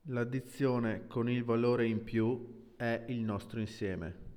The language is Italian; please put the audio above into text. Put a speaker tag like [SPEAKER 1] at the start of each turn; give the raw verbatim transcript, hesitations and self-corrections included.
[SPEAKER 1] L'addizione con il valore in più è il nostro insieme.